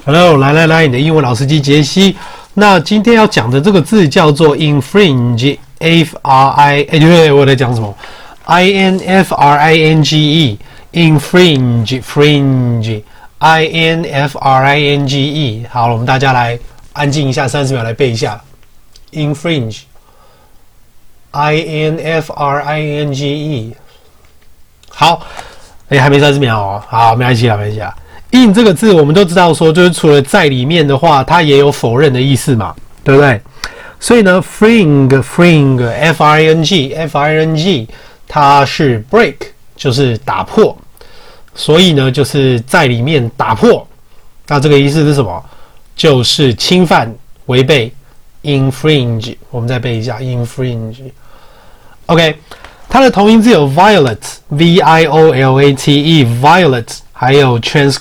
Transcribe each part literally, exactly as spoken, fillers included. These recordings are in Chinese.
Hello， 來來來，你的英文老司機傑西。那今天要講的這個字叫做 infringe，F R I， 哎，對對，我在講什麼 ？I N F R I N G E，infringe，fringe，I N F R I N G E。好了，我們大家來安靜一下，三十秒來背一下 infringe，I N F R I N G E。好，哎，還沒三十秒哦，好，沒關係啦，沒關係啦。in 這個字我們都知道說，就是除了在裡面的話，它也有否認的意思嘛，對不對？所以呢 ，fring，fring，f r i n g，f r i n g， 它是 break， 就是打破，所以呢，就是在裡面打破。那這個意思是什麼？就是侵犯、違背 ，infringe。我們再背一下 infringe。OK， 它的同音字有 violate，v i o l a t e，violate。還有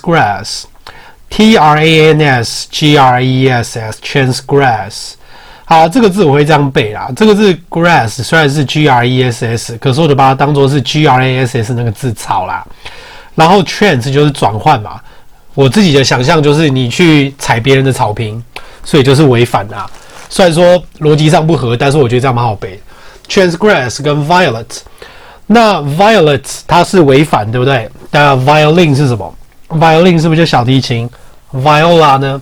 transgress，T R A N S G R E S S，transgress。好，這個字我會這樣背啦。這個字 grass 雖然是 G R E S S， 可是我就把它當作是 G R A S S 那個字草啦。然後 trans 就是轉換嘛。我自己的想象就是你去踩別人的草坪，所以就是違反啦。雖然說邏輯上不合，但是我覺得這樣蠻好背。transgress 跟 violate。那 violate 它是違反，對不對？那 violin 是什麼 ？violin 是不是就小提琴 ？viola 呢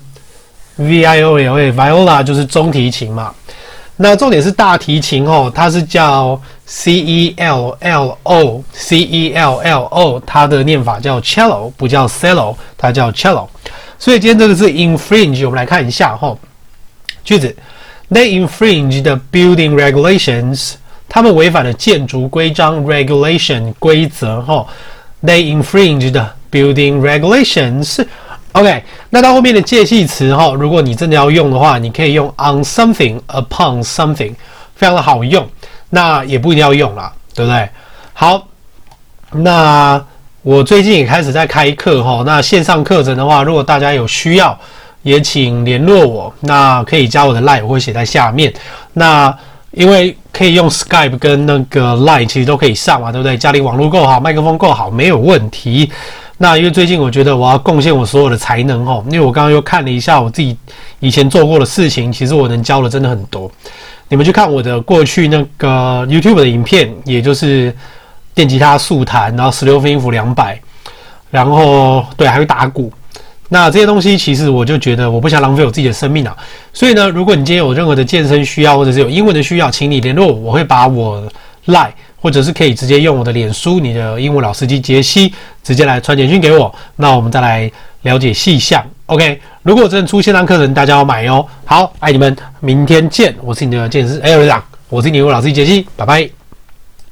？V I O L A，viola 就是中提琴嘛。那重點是大提琴哦，它是叫 C E L L O，C E L L O， 它的念法叫 cello， 不叫 cello， 它叫 cello。所以今天這個是 infringe， 我們來看一下哈、哦。句子 ：They infringe the building regulations。他們違反了建築規章 regulation 規則哈 ，they infringed building regulations。OK， 那到後面的介系詞哈，如果你真的要用的話，你可以用 on something、upon something， 非常的好用。那也不一定要用啦，對不對？好，那我最近也開始在開課哈，那線上課程的話，如果大家有需要，也請聯絡我，那可以加我的 line， 我會寫在下面。那因為可以用 Skype 跟那個 Line 其實都可以上嘛，對不對？家裡網絡夠好，麥克風夠好，沒有問題。那因為最近我覺得我要貢獻我所有的才能齁，因為我剛剛又看了一下我自己以前做過的事情，其實我能教的真的很多。你們去看我的過去那個 YouTube 的影片，也就是電吉他速彈，然後十六分音符兩百，然後對，還會打鼓。那這些東西其實我就覺得我不想浪費我自己的生命啊，所以呢，如果你今天有任何的健身需要或者是有英文的需要，請你聯絡我，我會把我 Line 或者是可以直接用我的臉書，你的英文老司機傑西直接來傳簡訊給我，那我們再來了解細項。OK， 如果真的出線上課程，大家要買哦。好，愛你們，明天見，我是你的健身哎，我是你的英文老司機傑西，拜拜。